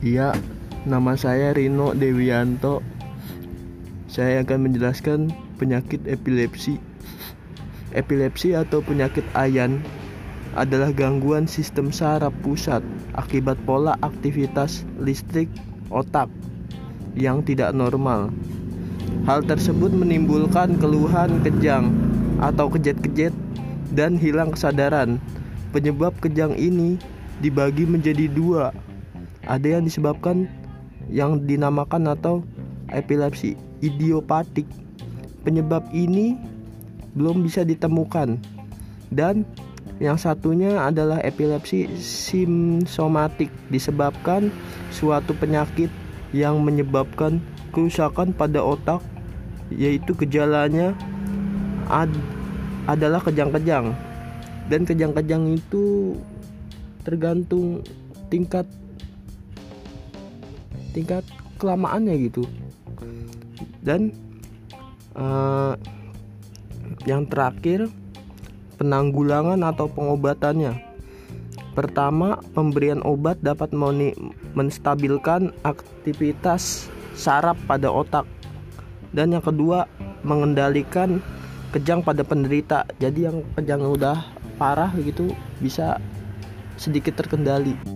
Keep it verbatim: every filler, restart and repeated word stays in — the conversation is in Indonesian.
Iya, nama saya Rino Dewianto. Saya akan menjelaskan penyakit epilepsi. Epilepsi atau penyakit Ayan adalah gangguan sistem saraf pusat akibat pola aktivitas listrik otak yang tidak normal. Hal tersebut menimbulkan keluhan kejang atau kejet-kejet dan hilang kesadaran. Penyebab kejang ini dibagi menjadi dua. Ada yang disebabkan yang dinamakan atau epilepsi idiopatik. Penyebab ini belum bisa ditemukan. Dan yang satunya adalah epilepsi simptomatik, disebabkan suatu penyakit yang menyebabkan kerusakan pada otak, yaitu gejalanya ad- adalah kejang-kejang. Dan kejang-kejang itu tergantung tingkat tingkat kelamaannya gitu. Dan uh, yang terakhir, penanggulangan atau pengobatannya. Pertama, pemberian obat dapat menstabilkan aktivitas saraf pada otak. Dan yang kedua, mengendalikan kejang pada penderita. Jadi yang kejang udah parah gitu bisa sedikit terkendali.